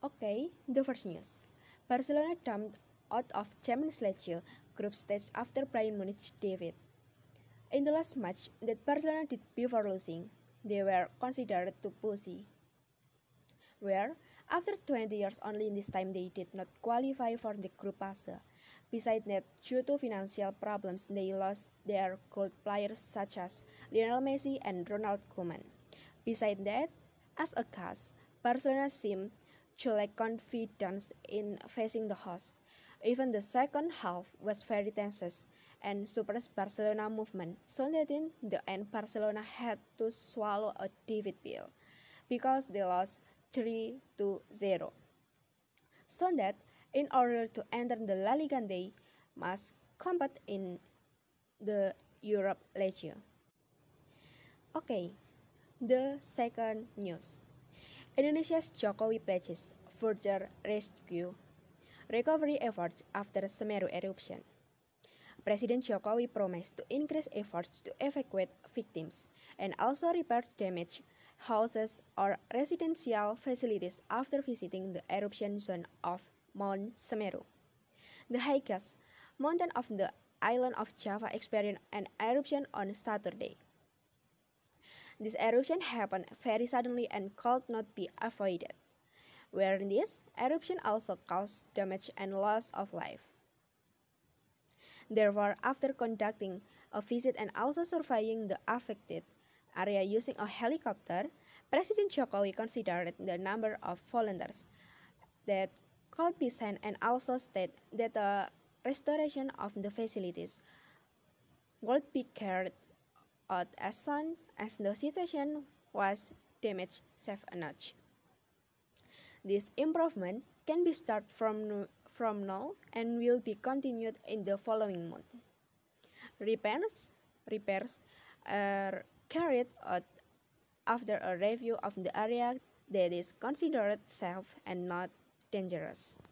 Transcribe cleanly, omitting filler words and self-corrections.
Okay, the first news. Barcelona dumped out of Champions League group stage after Bayern Munich defeat. In the last match that Barcelona did before losing, they were considered too pushy. Where, after 20 years only this time they did not qualify for the group phase. Besides that, due to financial problems, they lost their gold players such as Lionel Messi and Ronald Koeman. Besides that, as a cast, Barcelona seemed to lack confidence in facing the hosts. Even the second half was very tense, and suppressed Barcelona movement, so that in the end Barcelona had to swallow a defeat pill because they lost 3-0. So that in order to enter the La Liga they must compete in the Europe League. Okay, the second news. Indonesia's Jokowi pledges further rescue recovery efforts after Semeru eruption. President Jokowi promised to increase efforts to evacuate victims and also repair damaged houses or residential facilities after visiting the eruption zone of Mount Semeru. The highest mountain of the island of Java experienced an eruption on Saturday. This eruption happened very suddenly and could not be avoided, where this eruption also caused damage and loss of life. Therefore, after conducting a visit and also surveying the affected area using a helicopter, President Jokowi considered the number of volunteers that could be sent and also stated that the restoration of the facilities would be carried out as soon as the situation was damaged safe enough. This improvement can be started from now and will be continued in the following month. Repairs are carried out after a review of the area that is considered safe and not dangerous.